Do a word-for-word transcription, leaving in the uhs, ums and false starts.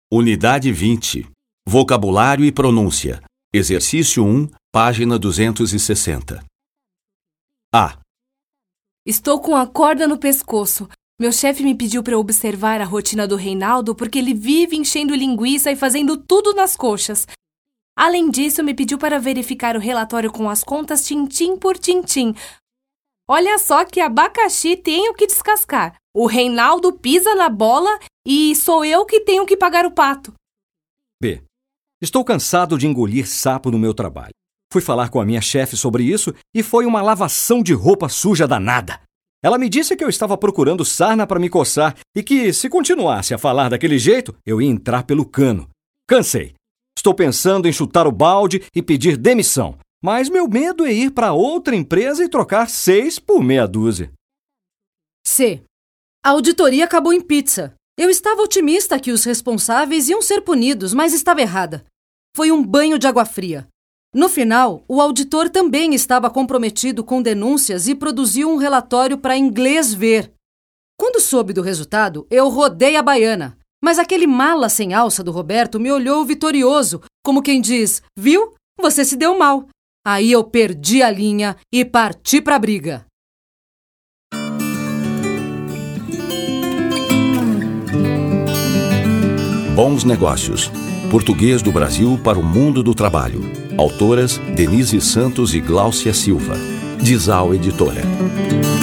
Unidade vinte. Vocabulário e pronúncia. Exercício um, página duzentos e sessenta. A. Estou com a corda no pescoço. Meu chefe me pediu para eu observar a rotina do Reinaldo porque ele vive enchendo linguiça e fazendo tudo nas coxas. Além disso, me pediu para verificar o relatório com as contas tintim por tintim. Olha só que abacaxi tenho que descascar. O Reinaldo pisa na bola e sou eu que tenho que pagar o pato. B. Estou cansado de engolir sapo no meu trabalho. Fui falar com a minha chefe sobre isso e foi uma lavação de roupa suja danada. Ela me disse que eu estava procurando sarna para me coçar e que, se continuasse a falar daquele jeito, eu ia entrar pelo cano. Cansei. Estou pensando em chutar o balde e pedir demissão, mas meu medo é ir para outra empresa e trocar seis por meia dúzia. C. A auditoria acabou em pizza. Eu estava otimista que os responsáveis iam ser punidos, mas estava errada. Foi um banho de água fria. No final, o auditor também estava comprometido com denúncias e produziu um relatório para inglês ver. Quando soube do resultado, eu rodei a baiana. Mas aquele mala sem alça do Roberto me olhou vitorioso, como quem diz, viu? Você se deu mal. Aí eu perdi a linha e parti pra briga. Bons Negócios. Português do Brasil para o mundo do trabalho. Autoras Denise Santos e Gláucia Silva. Dizal Editora.